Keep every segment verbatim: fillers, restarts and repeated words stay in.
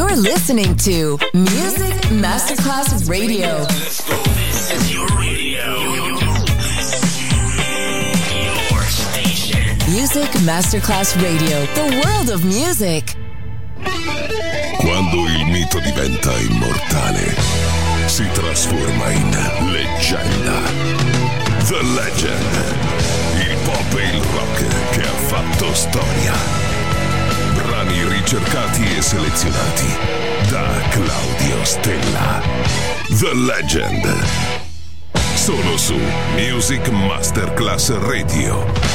You're listening to Music Masterclass Radio. This is your radio. Your station. Music Masterclass Radio. The world of music. Quando il mito diventa immortale, si trasforma in leggenda. The Legend. Il pop e il rock che ha fatto storia. Brani ricercati e selezionati da Claudio Stella. The Legend. Solo su Music Masterclass Radio.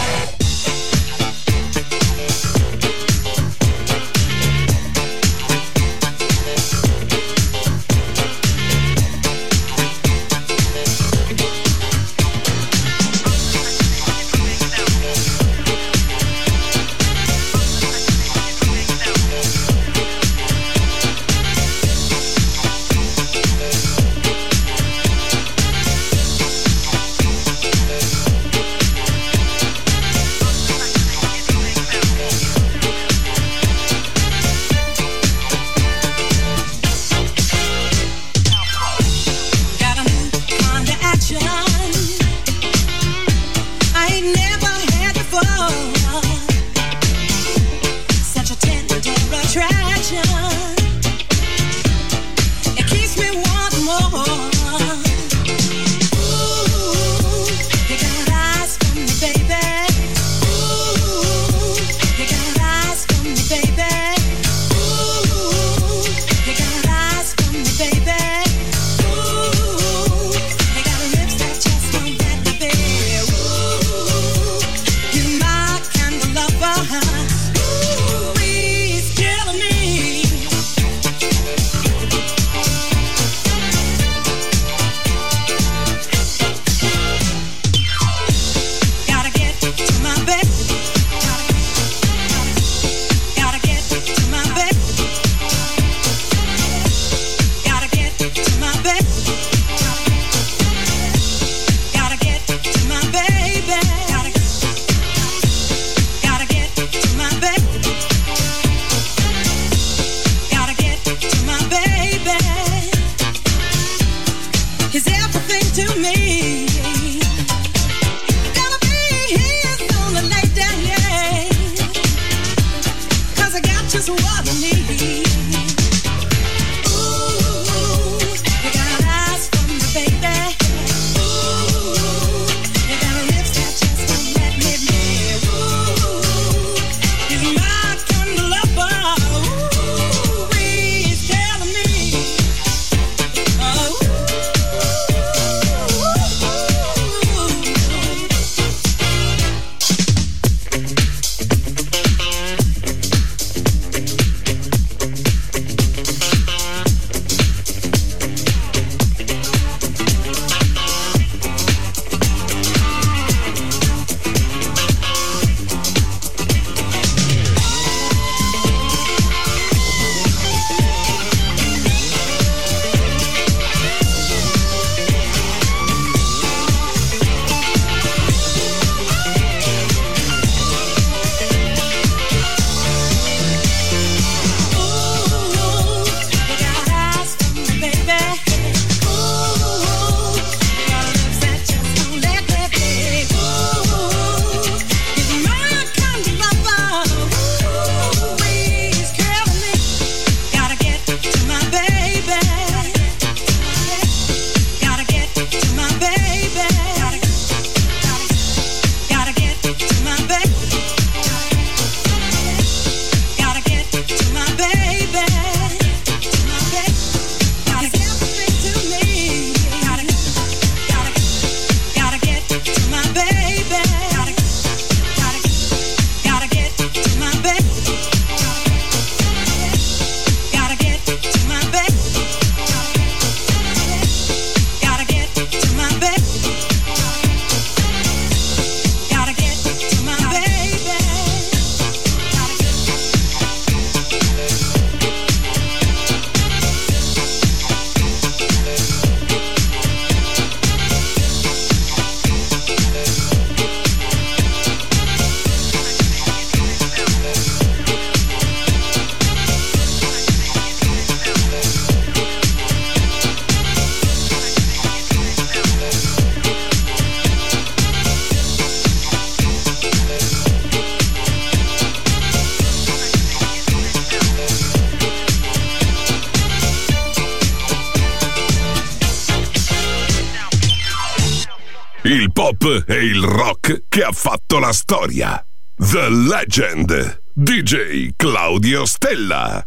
il pop e il rock che ha fatto la storia. The Legend, D J Claudio Stella.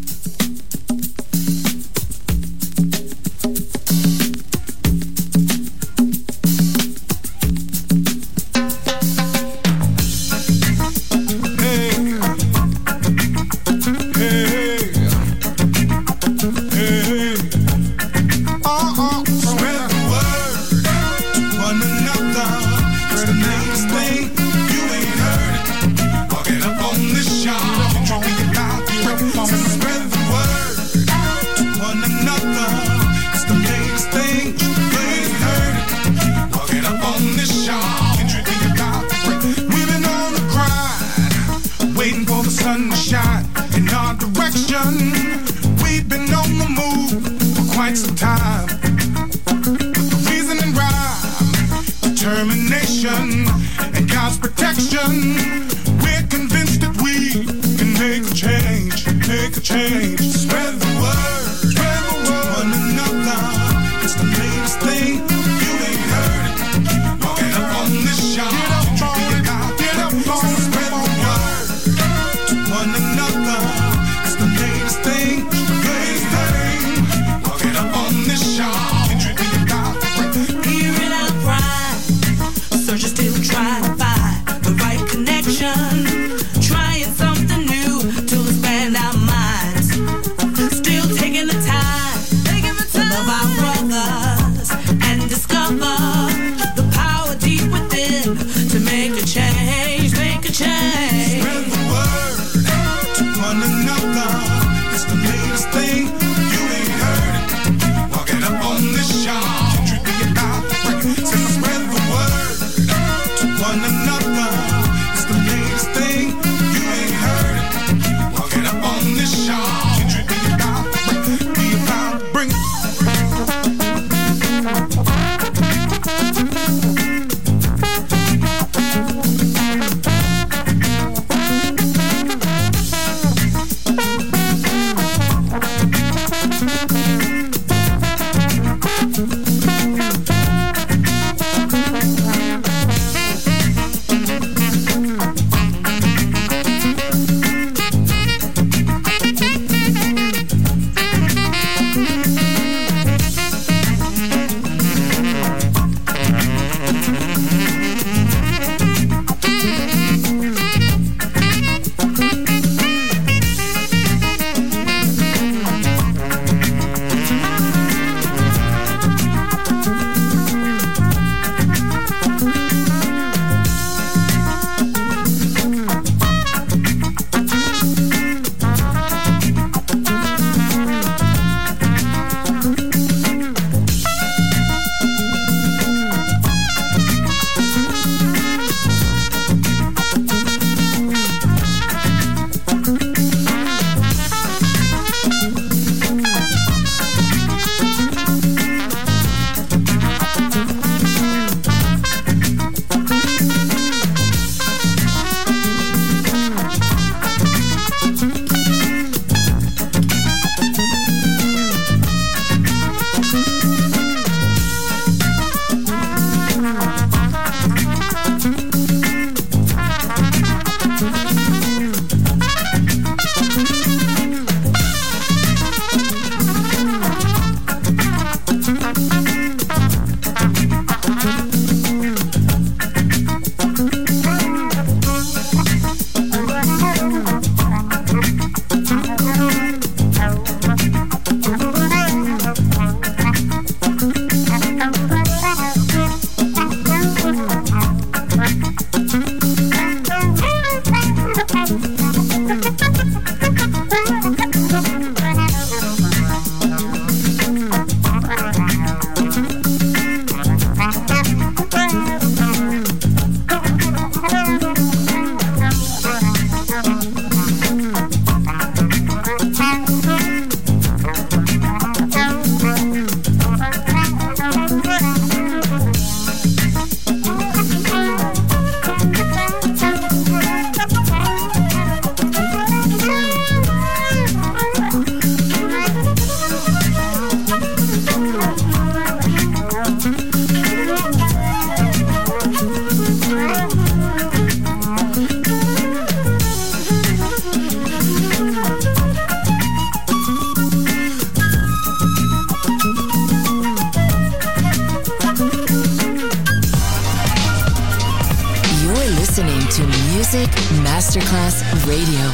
We've been on the move for quite some time. With the reason and rhyme, determination, and God's protection, we're convinced that we can make a change, make a change. Spread the word, spread the word. One another, it's the latest thing. You ain't heard it. Get up on this shot. Get up on it. Get up on it. Spread the word to one another. It's the latest thing, the latest thing. Well, get up on this shot. Introduce your God. Hearing our cry, searching still try to find the right connection. Trying something new to expand our minds. Still taking the time, taking the time to love our brothers and discover the power deep within to make a change, make a change. Spread the word to one another. It's the latest thing. You ain't heard it. Well, get up on this shot. Introduce your God. Say spread the word to one another. It's the latest thing. You ain't heard it. Well, get up on this shot. Introduce your God. Be about to bring it. Music Masterclass Radio.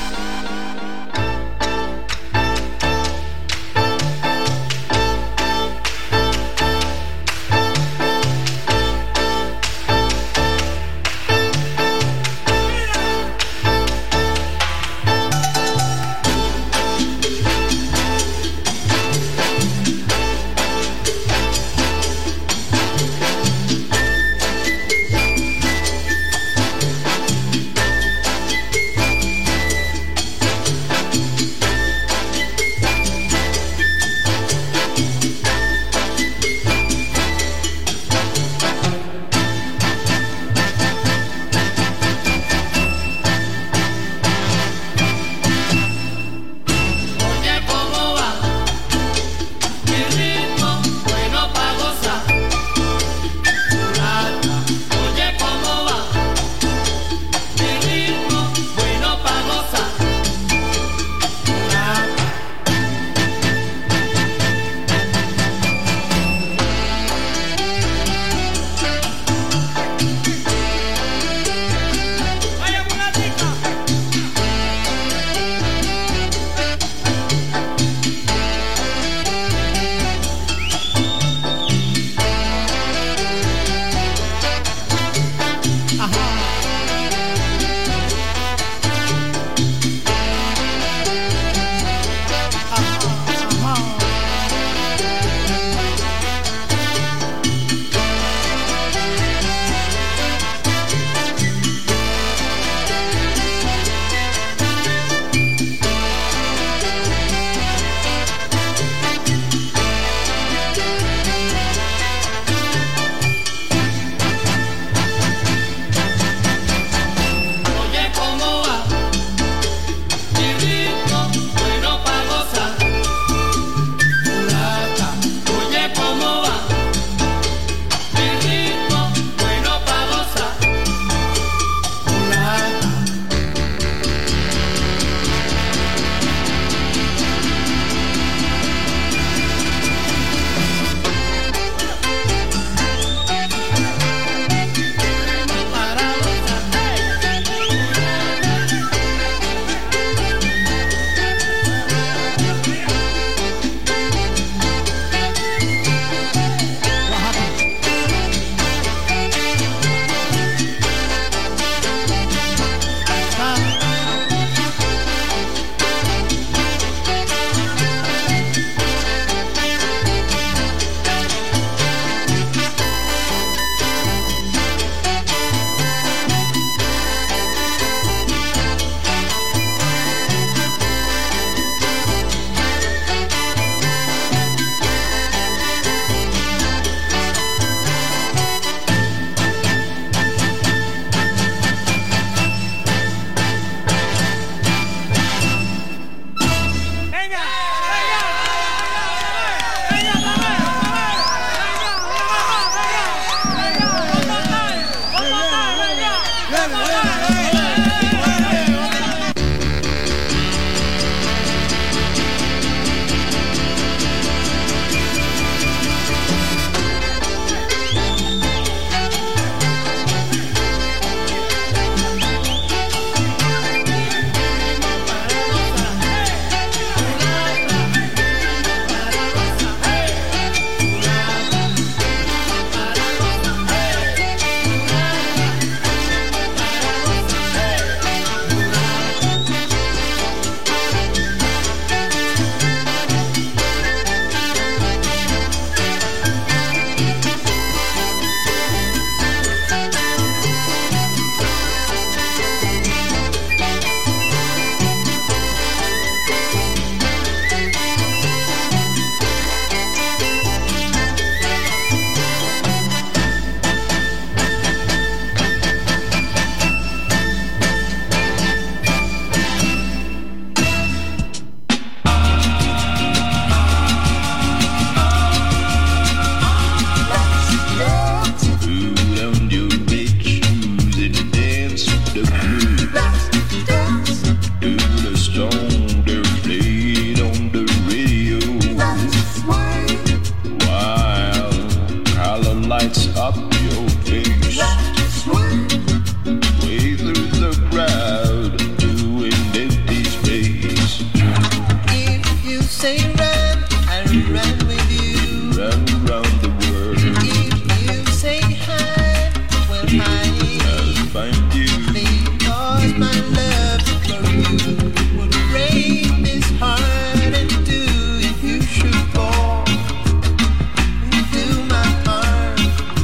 say run, I'll run with you. Run round the world. If you say hide, well hide. I'll find you. Because my love for you would break this heart in two if you should fall into my heart.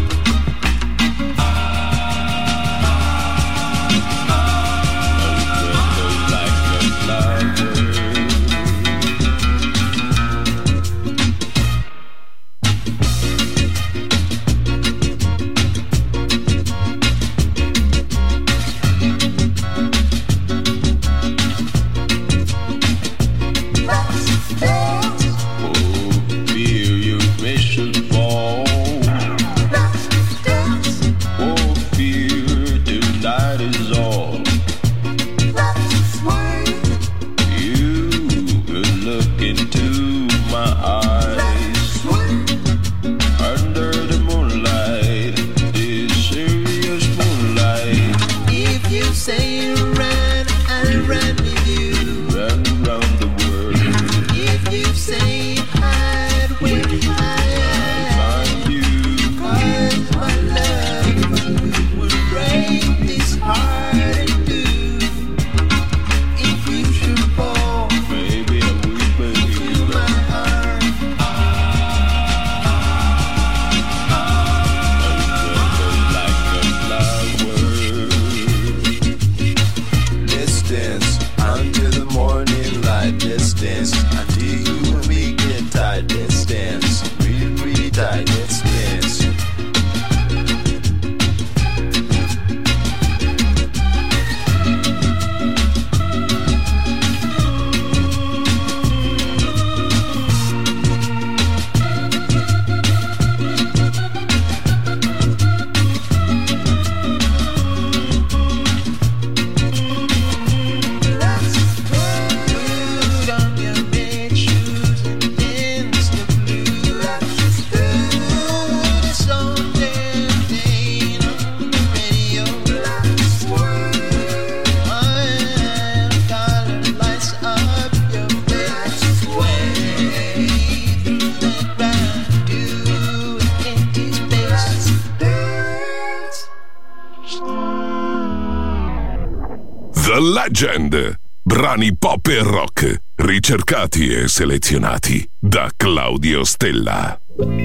The Legend. Brani pop e rock, ricercati e selezionati da Claudio Stella.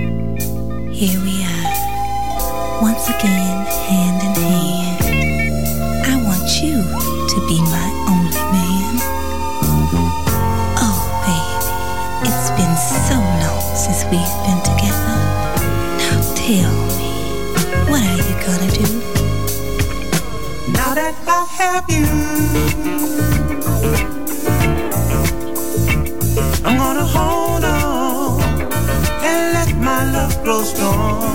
Here we are, once again, hand in hand. I want you to be my only man. Oh, baby, it's been so long since we've been together. Now tell me, what are you gonna do? Now that I have you, I'm gonna hold on and let my love grow strong.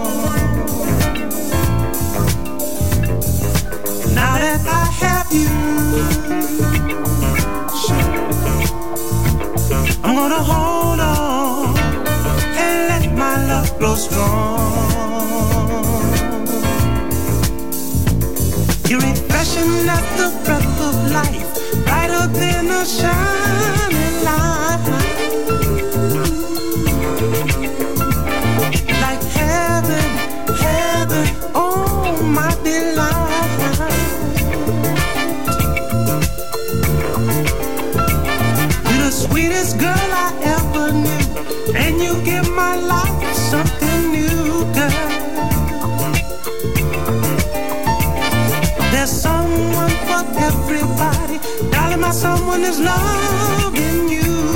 Now that I have you, I'm gonna hold on and let my love grow strong. You're refreshing as the breath of life, brighter than a shining light. Like heaven, heaven, oh my delight. You're the sweetest girl I ever knew, and you give my life something new, girl. There's someone for everybody, darling, my someone is loving you.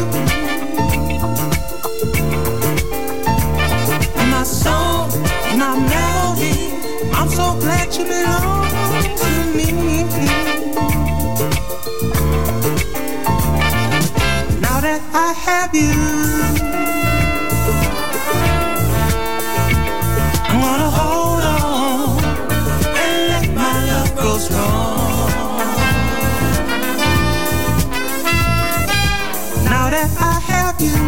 My soul, my melody, I'm so glad you belong to me. Now that I have you, I'm gonna hold on and let my love grow strong. Now that I have you,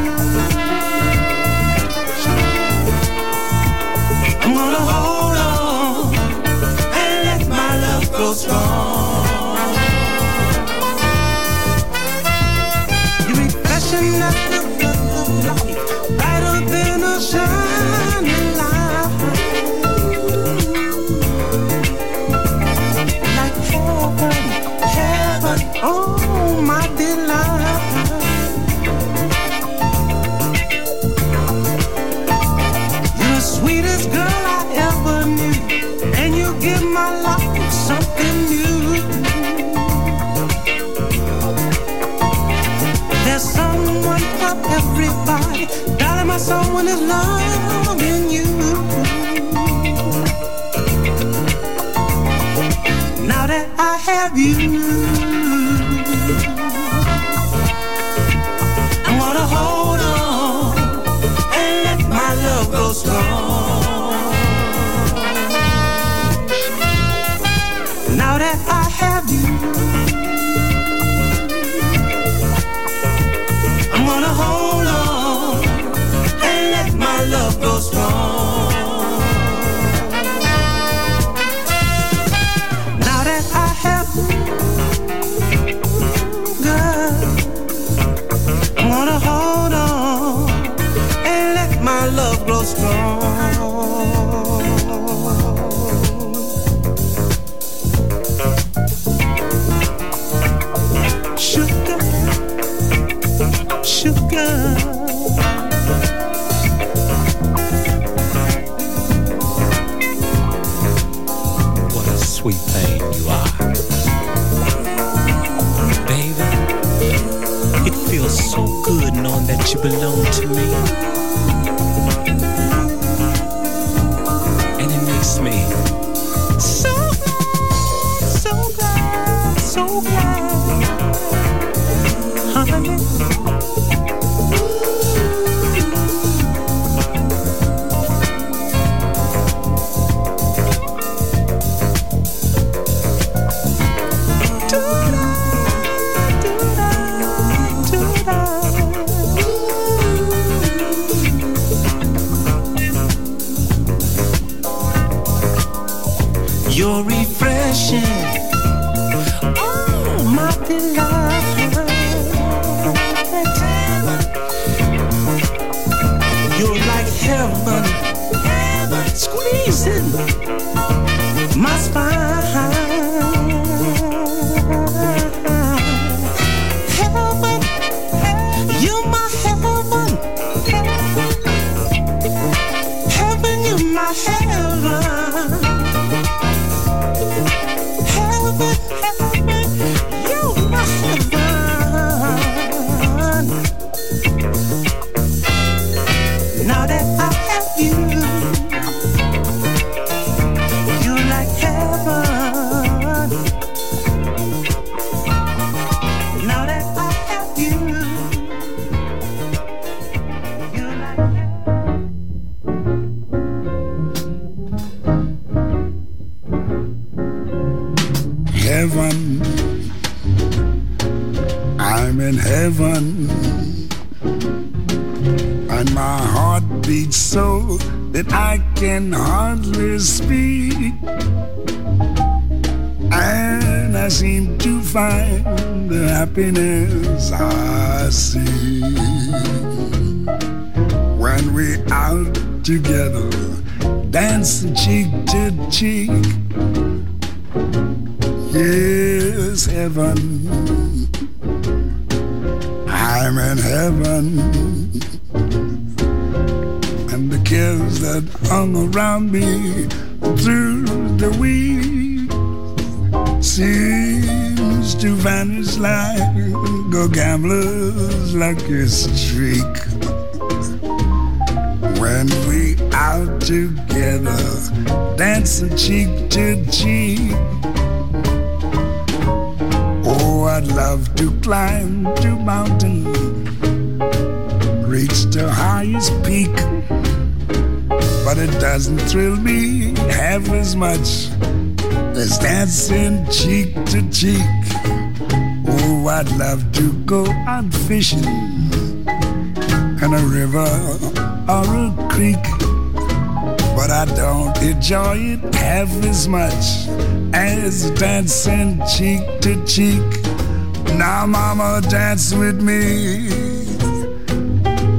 I'm gonna hold on and let my love grow strong. You're refreshing brighter than a shining light, like heaven, heaven, oh my delight. You're the sweetest girl I ever knew, and you give my life something new. There's someone for everybody, darling, my someone is loving you. Now that I have you, I wanna hold on and let my love go strong. Now that I have you, I'm gonna hold on and let my love go strong. Now that I have you, girl, I'm gonna hold on and let my love grow strong. Sugar, sugar. What a sweet thing you are, baby. It feels so good knowing that you belong to me, and it makes me So glad, so glad, so glad, honey. You're refreshing, oh my delight. You're like heaven, heaven squeezing my spine. Heaven, you're my heaven. Heaven, you're my heaven. Now that I have you, you're like heaven. Now that I have you, you're like heaven. I'm in heaven, and my heart beats so that I can hardly speak, and I seem to find the happiness I see when we're out together, dancing cheek to cheek. Yes, heaven, I'm in heaven, and the cares that hung around me through the week seems to vanish like a gambler's lucky streak. When we out together, dancing cheek to cheek. Oh, I'd love to climb the mountain, reach the highest peak, but it doesn't thrill me half as much as dancing cheek to cheek. Oh, I'd love to go out fishing in a river or a creek, but I don't enjoy it half as much as dancing cheek to cheek. Now, mama, dance with me.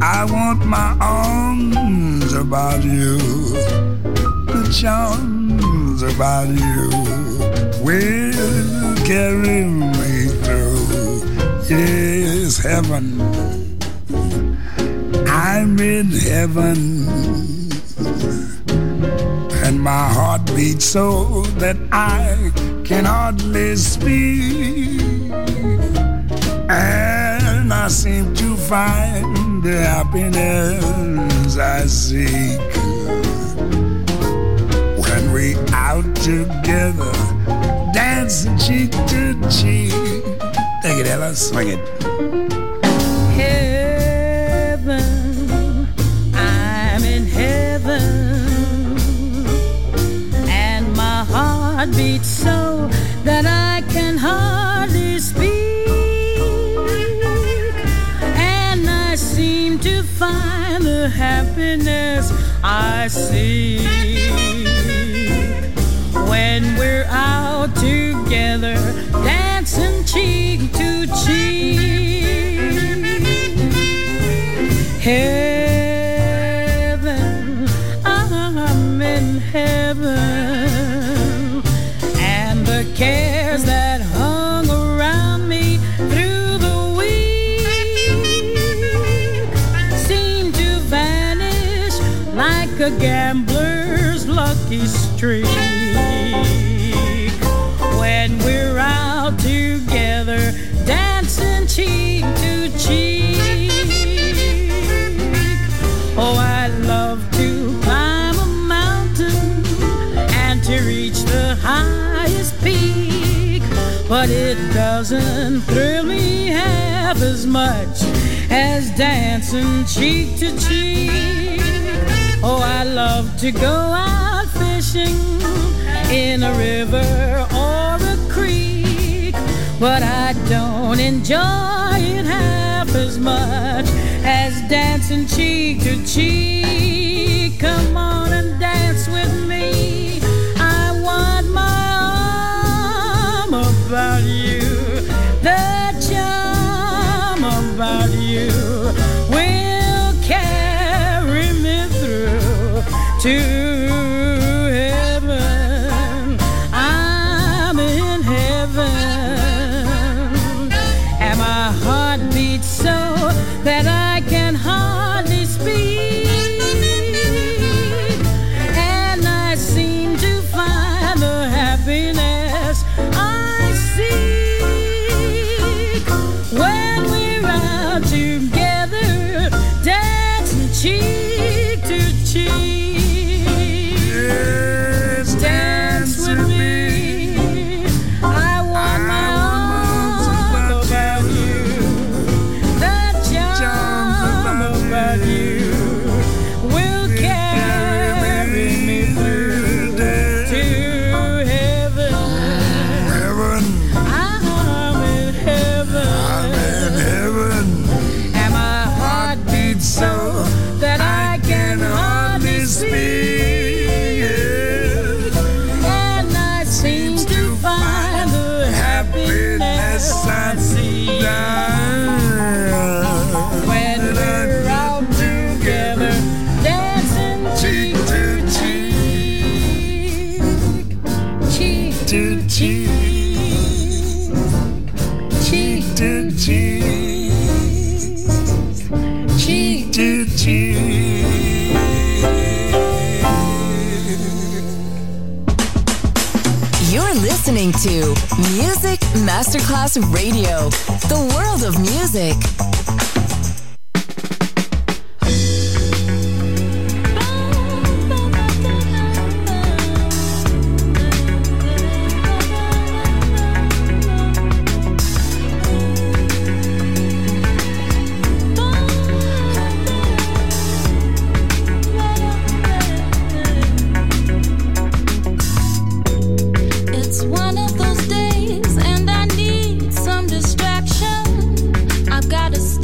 I want my arms about you, the charms about you will carry me through. Yes, heaven, I'm in heaven, and my heart beats so that I can hardly speak, and I seem to find the happiness I seek when we out together, dancing cheek to cheek. Take it, Ella, swing it. Heaven, I'm in heaven, and my heart beats so that I can hardly speak, and I seem to find the happiness I seek when we're out together, dancing cheek to cheek. Heaven, I'm in heaven, and the cares that hung around me through the week seem to vanish like a gambler's lucky streak when we're out together, dancing cheek to cheek. Oh, I love to climb a mountain and to reach the highest peak, but it doesn't thrill me half as much as dancing cheek to cheek. Oh, I love to go out fishing in a river or a creek, but I don't enjoy it half as much as dancing cheek to cheek. Come on and dance with me. I want my arm about you. The charm about you will carry me through to heaven. I'm in heaven, and my heart beats so that I can hardly speak, and I seem to find the happiness I seek when we're out together, dancing cheek to cheek. Yes, dance with me. I want my arms about you, the charm about you will carry me through to heaven. Heaven, I'm in heaven, I'm in heaven, and my heart beats so that I can hardly speak, and I seem to find the happiness I seek when we're out together, dancing cheek to cheek, cheek to cheek, cheek to cheek, cheek to cheek. You're listening to Music Masterclass Radio, the world of music. It's one of those days, and I need some distraction. I've got to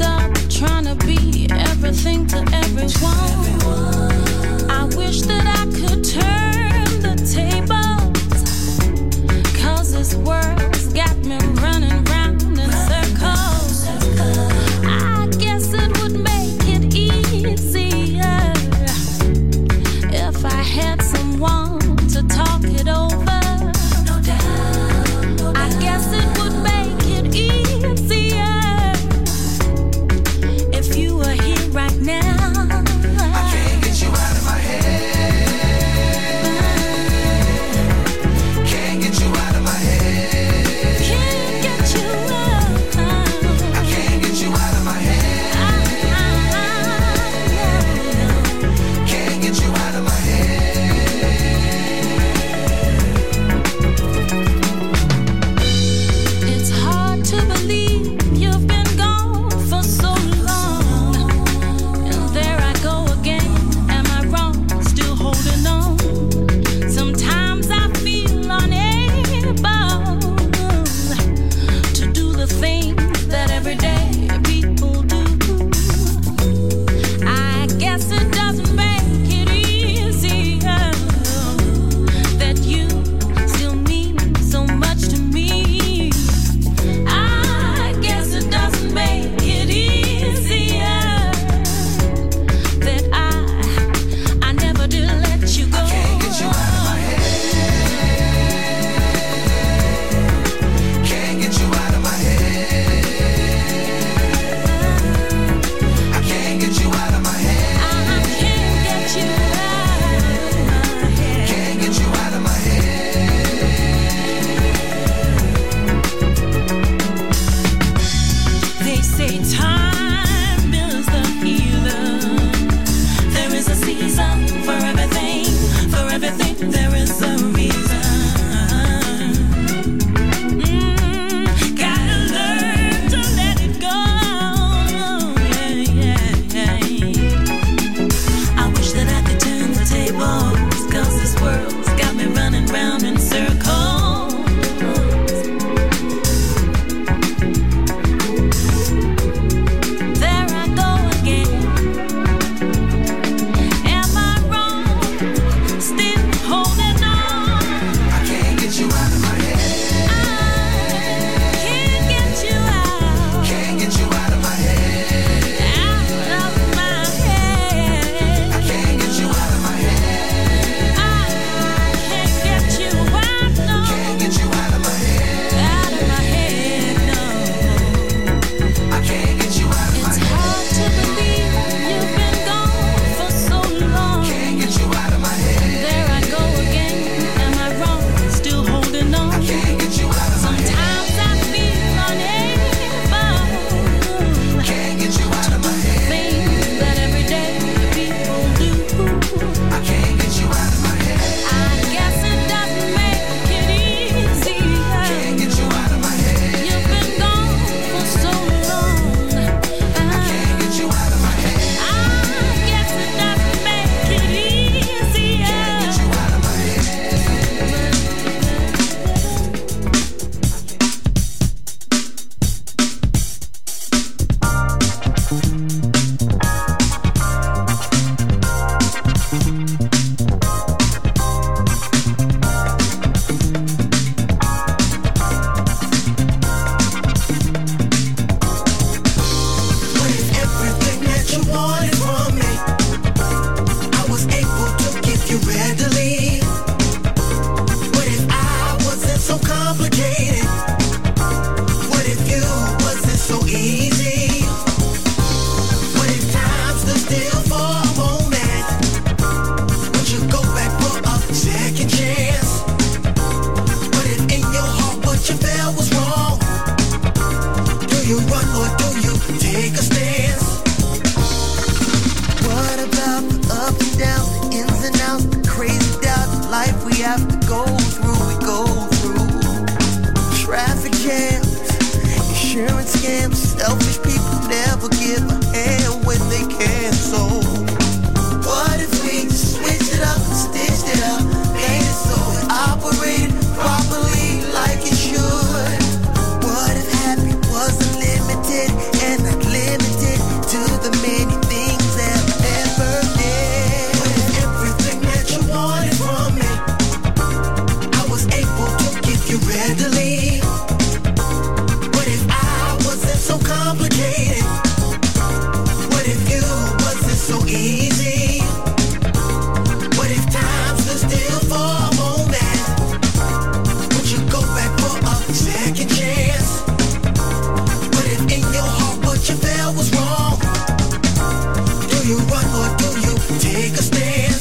ups and downs, the ins and outs, the crazy doubts of life we have to go through, we go through. Traffic jams, insurance scams, selfish people never give a hand when they can. So what if we just switched it up and stitched it up, made it so it operated properly like it should? What if happy was unlimited and not limited to the many things that I never did? What if everything that you wanted from me I was able to give you readily? What if I wasn't so complicated? What if you wasn't so easy? What if time stood still for a moment? Would you go back for a second chance? What if in your heart what you felt was wrong? Do you run or do you take a stance?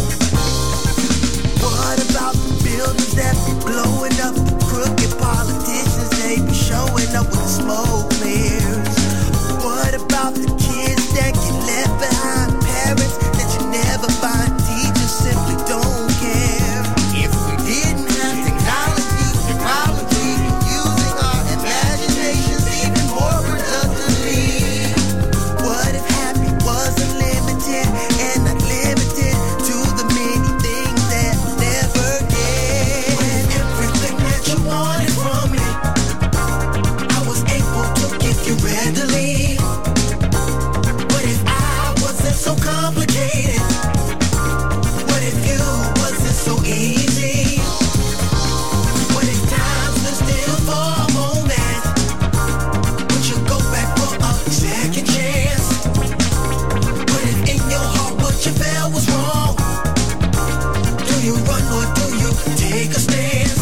What about the buildings that be blowing up? The crooked politicians, they be showing up with smoke mirrors. What about the kids that get left behind? Parents that you never find, teachers simply don't care. If we didn't have technology, technology, using our imaginations even more productively. What if happy was unlimited and not limited to the many things that we never did? What if everything that you wanted from me I was able to give you readily? What if I wasn't so complicated? What if you wasn't so easy? What if time stood still for a moment? Would you go back for a second chance? What if in your heart what you felt was wrong? Do you run or do you take a stance?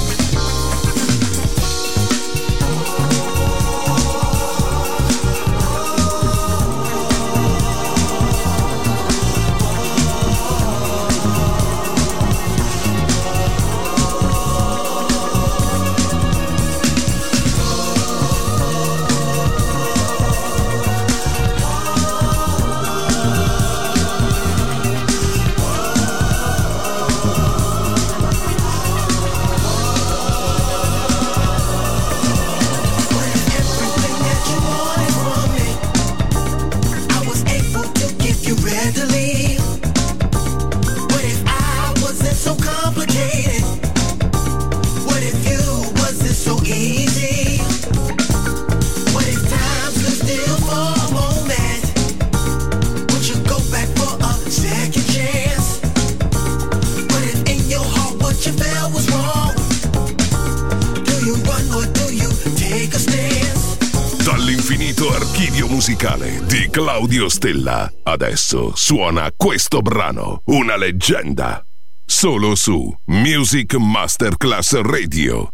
Everything that you wanted from me I was able to give you readily. What if I wasn't so complicated? What if you wasn't so easy? What if time stood still for a moment? Would you go back for a second chance? What if in your heart what you felt was wrong? Do you run or do you take a stance? Dall'infinito archivio musicale di Claudio Stella, adesso suona questo brano, una leggenda, solo su Music Masterclass Radio.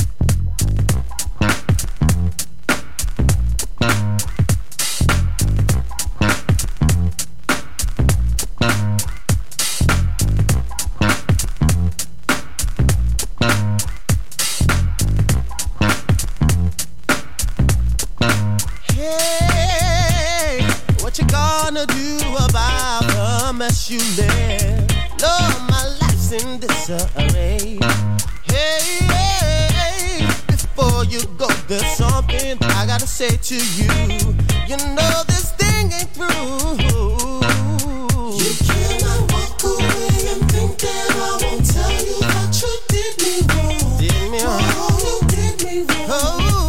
Hey, what you gonna do about the mess you live? Lord, my life's in disarray. Hey, hey, before you go, there's something I gotta say to you. You know this thing ain't through. You cannot walk away and think that I won't tell you that you did me wrong. Did me wrong. Oh, you did me wrong. Oh.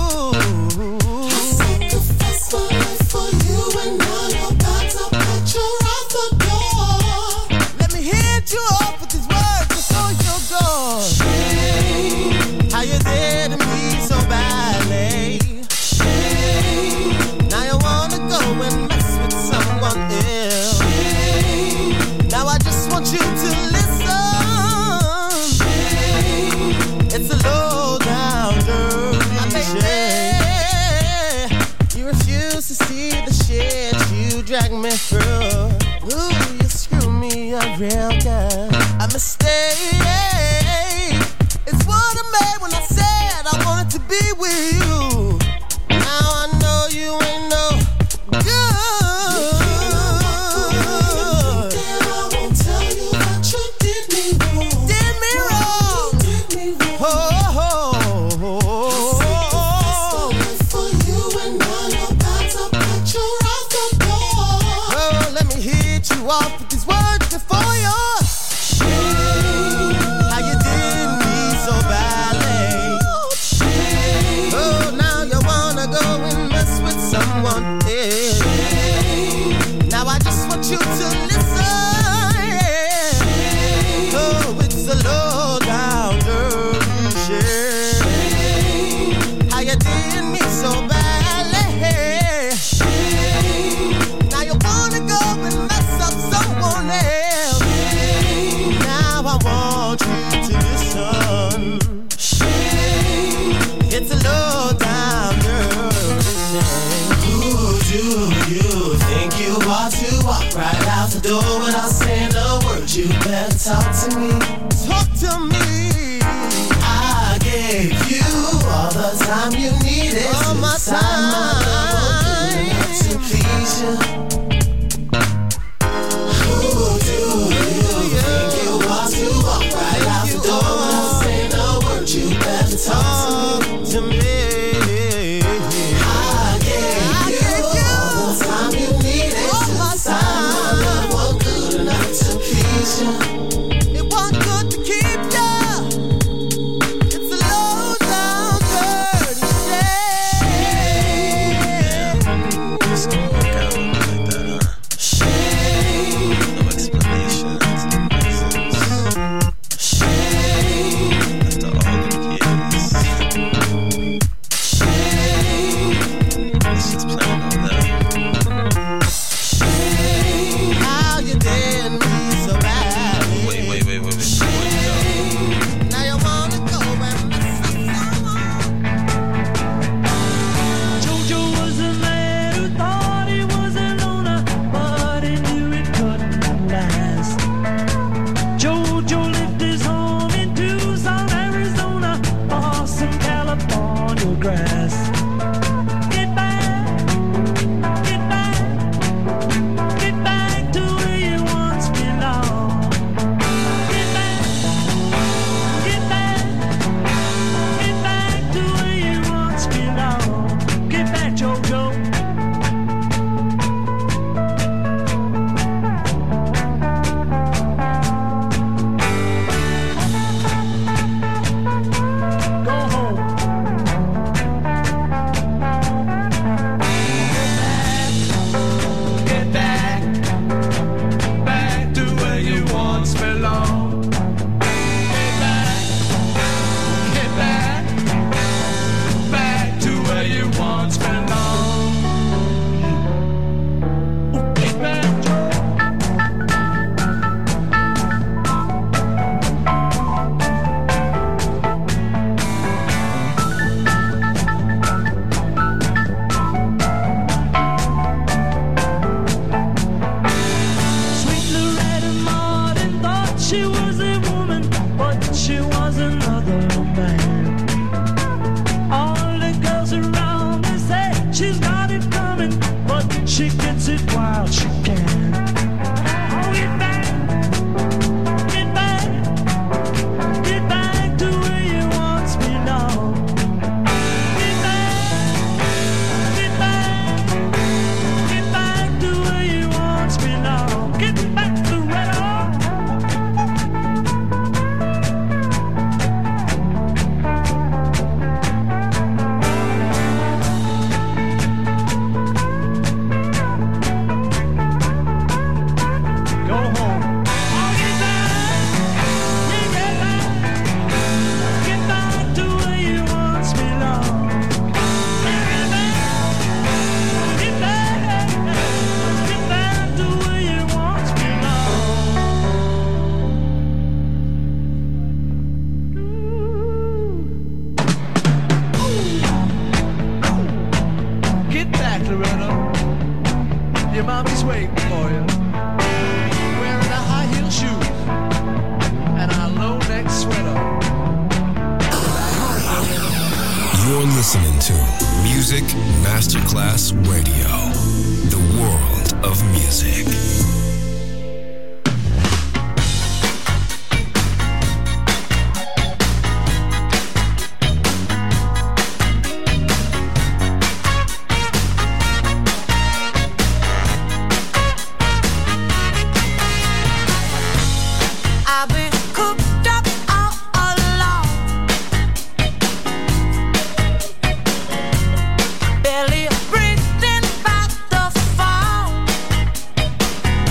For you and now you're about to put your out the door. Let me hit you off with these words before you're gone. Shame, how you did to me so badly. Shame, now you wanna go and mess with someone else. Shame, now I just want you to listen. Shame, it's a low down dirty shame. You refuse to see the shit you drag me through. Ooh, you screw me up real good. A mistake. It's what I made when I said I wanted to be with you. Now I know you ain't no good. you to listen. Yeah. Oh, it's a low down dirty shame. How you did me so badly. Shame. Now you wanna go and mess up someone else. Shame. Now I want you to listen. Shame. It's a low down dirty shame. Who do you think you are to walk right out the door without saying a word? You better talk to me. Talk to me. I gave you all the time you needed. All my time. To please you. Who do you think you are to walk right out the door without saying a word? You better talk to me. I gave you all the time you needed. All my time. It wasn't good enough to please you. It wasn't good to keep you. It's a low down dirty shame. Just don't work out like that, huh? Shame. No explanations, no reasons. Shame. After all them years, Shame. let's just plan on that. Shame. How you did me so badly. Wait, wait, wait, wait, wait. Before you go, Now you wanna go and mess up someone. Jojo was a man who thought he was a loner, but he knew it couldn't last. Jojo lived his home in Tucson, Arizona, or some California grass. Get back, get back, get back to where you once belonged. Get back, get back, get back to where you once belonged. Get back, Jojo. Go home. Get back, back to where you once belonged. Get back, get back, back to where you once belonged. Get back, Sweet Loretta Martin thought she was a woman, but she was another man. All the girls around me say she's got it coming, but she gets it while she can. Oh, get back, get back, get back to where you once belonged. Get back, get back, get back to where you once belonged. Get back, Loretta. Go home. Oh, get back, yeah, get back, get back to where you once belonged. Yeah, get back, get back, get back to where you once belonged. Get back, Loretta. Your mommy's waiting for you. Wearing a high heel shoes and a low neck sweater. You're listening to Music Masterclass Radio, the world of music. I've been cooped up all alone, barely breathing by the phone.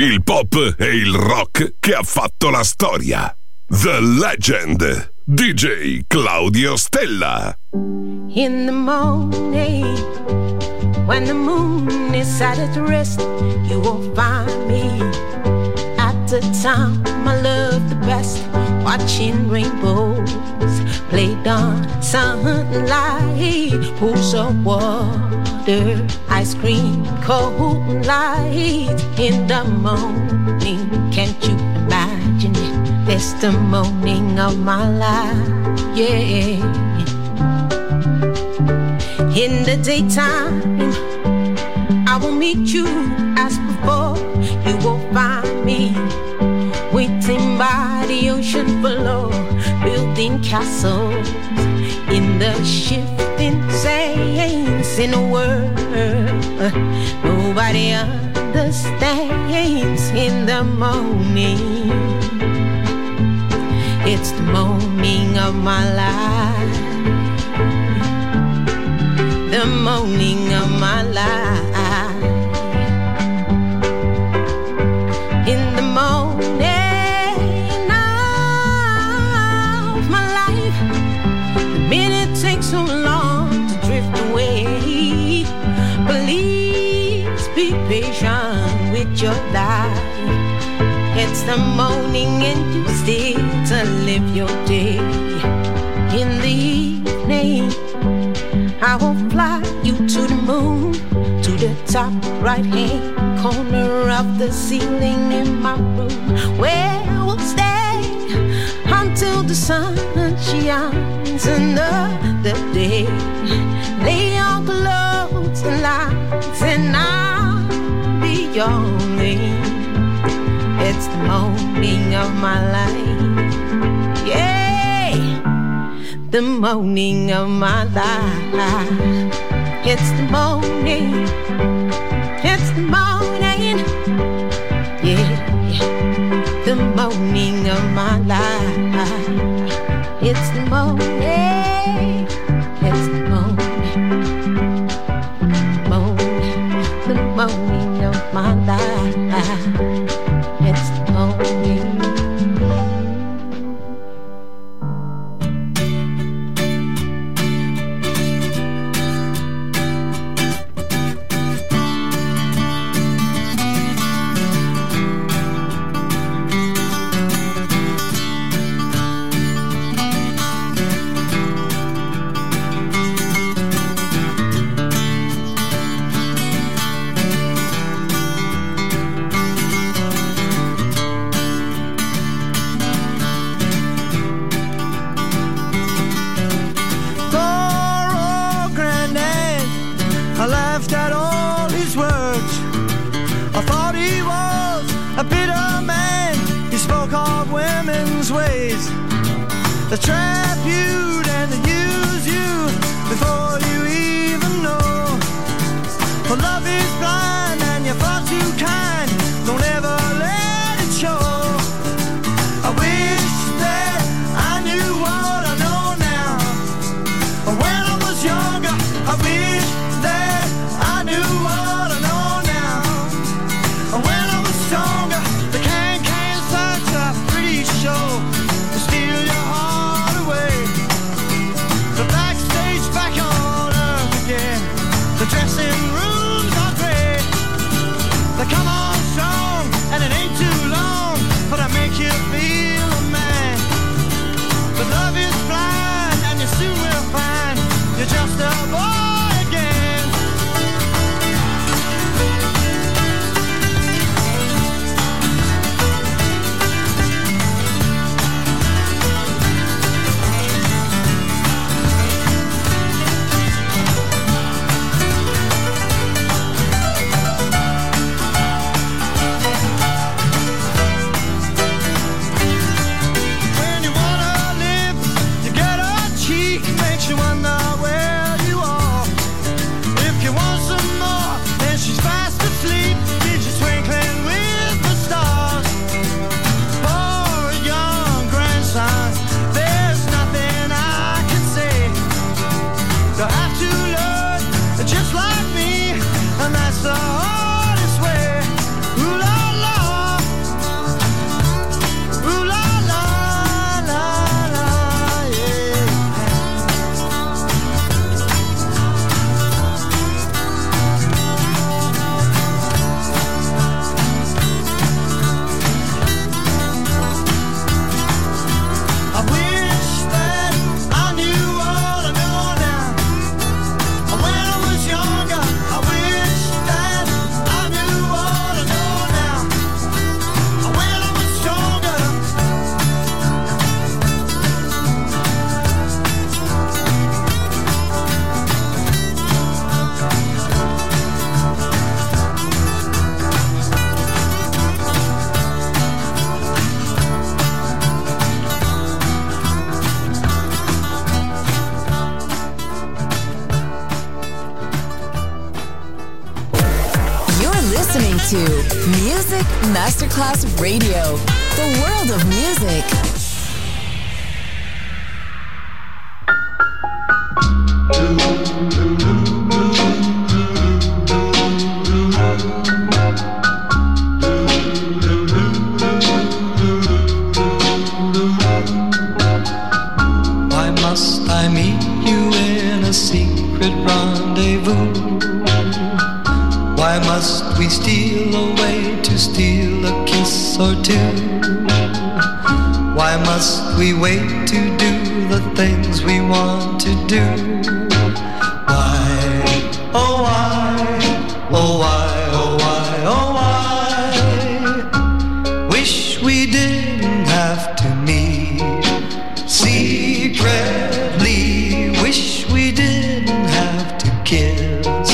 Il pop e il rock che ha fatto la storia. The Legend, D J Claudio Stella. In the morning, when the moon is at its rest, you will find me at the time I love the best, watching rainbows played on sunlight, pools of water, ice cream, cold light. In the morning, can't you imagine it? It's the morning of my life, yeah. In the daytime, I will meet you as before. You will find me waiting by the ocean floor, building castles in the shifting sands. In a world nobody understands. In the morning, it's the morning of my life, the morning of my life. In the morning of my life, the minute takes so long to drift away. Please be patient with your life. It's the morning and you still to live your day. In the evening, I will fly you to the moon, to the top right hand corner of the ceiling in my room, where we'll stay until the sun shines another day. Lay your clothes and lights and I'll be your name. It's the morning of my life, yeah, the morning of my life. It's the morning, it's the morning, yeah, the morning of my life. It's the morning, it's the morning, morning, the morning of my life. It's the morning. They trap you and they use you before you even know. For love is blind and you're far too kind. Don't ever let it show. I wish that I knew what I know now. When I was younger, I wish that I knew what I know now. When I was stronger, the can-can such a pretty show. Steal your heart away. The backstage back on earth again. The dressing rooms are great. They come on strong and it ain't too long, but I make you feel a man. But love is blind and you soon will find you're just a boy again. Just like me, and that's the hardest way. Ooh la la. to Music Masterclass Radio, the world of music. Why must I meet you in a secret rendezvous? Why must we steal away to steal a kiss or two? Why must we wait to do the things we want to do? Why, oh why, oh why, oh why, oh why? Wish we didn't have to meet secretly. Wish we didn't have to kiss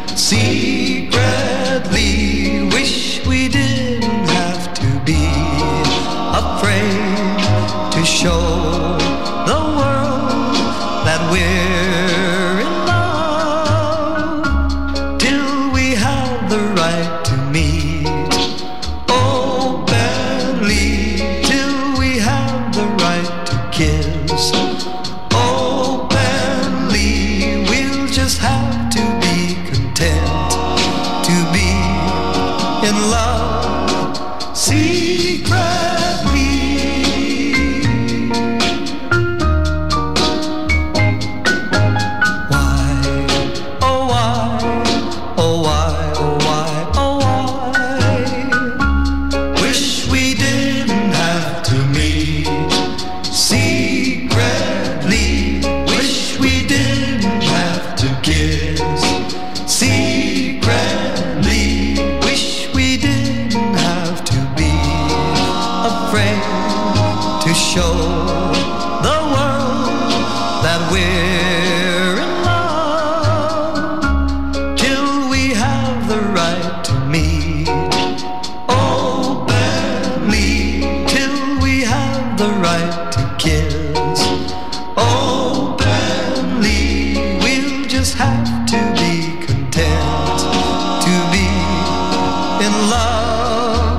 secretly. Wish we didn't have to be afraid to show the world that we're in love till we have the right to meet openly, till we have the right to kiss openly. We'll just have to be content to be in love secretly. Why, oh why, oh why, oh why, oh why? Wish we didn't have to meet secretly. Wish we didn't have to kiss secretly. Wish we didn't have to be afraid to show the world that we're in love till we have the right to meet openly, till we have the right to kiss openly. We'll just have to be content to be in love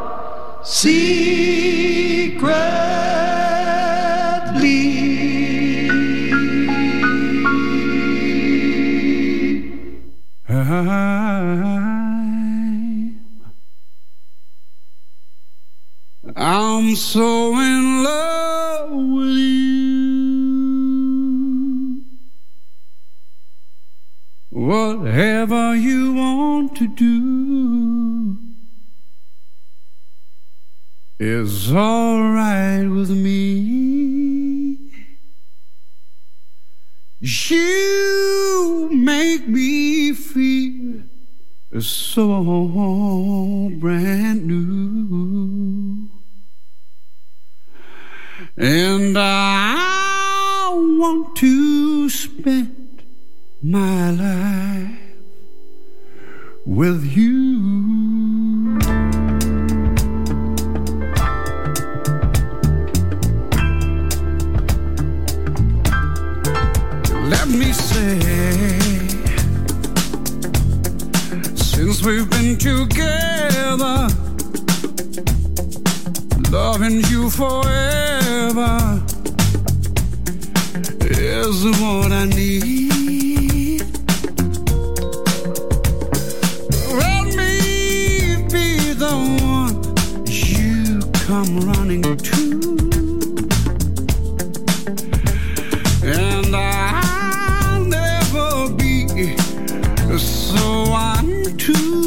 I'm so in love with you. Whatever you want to do is all right with me. You make me feel so brand new, and I want to spend my life with you. Let me say, since we've been together, loving you forever is what I need. Let me be the one you come running to, and I'll never be so untrue.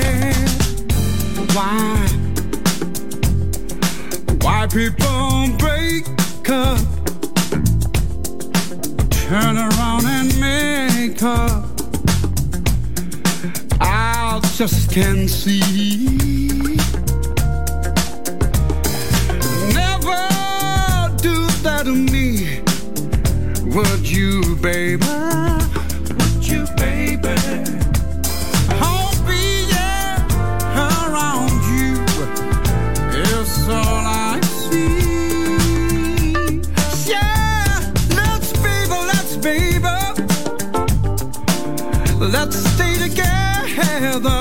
Why? Why people break turn around and make up. I just can't see. Never do that to me. Would you, baby? Would you, baby? I'll be yeah, around you. It's all I see. Yeah, let's baby, let's baby. Let's stay together.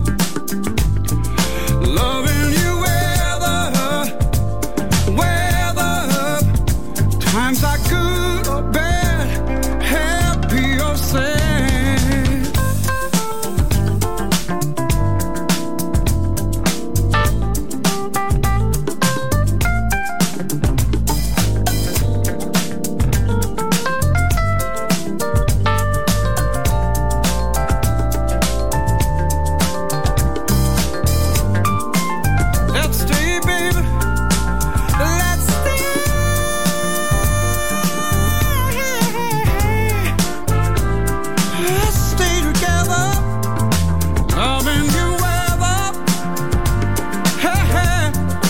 Loving you weather, weather. Times are good or bad, happy or sad. Let's stay, baby. Let's stay. Let's stay together. Loving you weather. Hey, hey.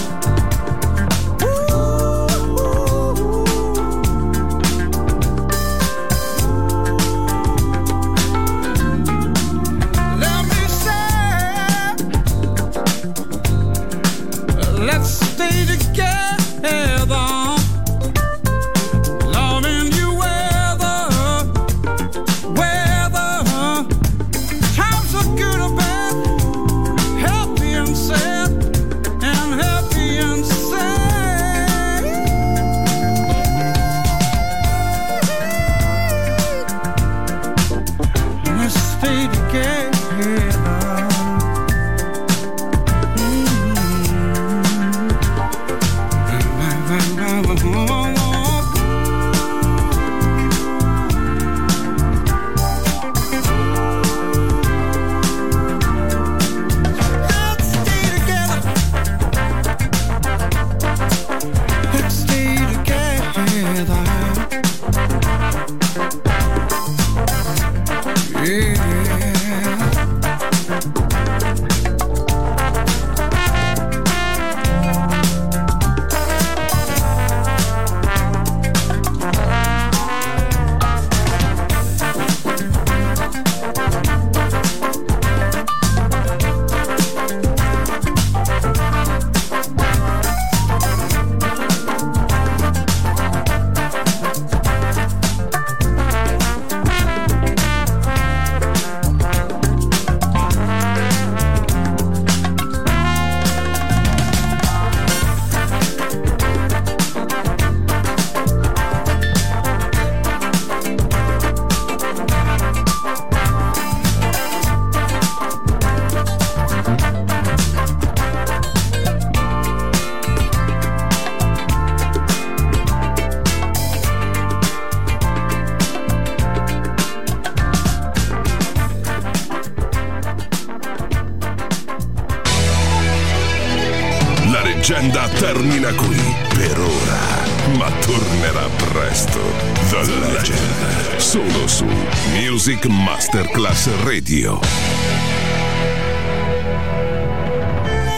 Let me say, let's stay together. Loving you weather, weather. Times are good or bad, happy and sad, and happy and sad. Let's stay together. Let's stay together. Let's stay together. Yeah. La leggenda termina qui per ora, ma tornerà presto. The Legend, solo su Music Masterclass Radio.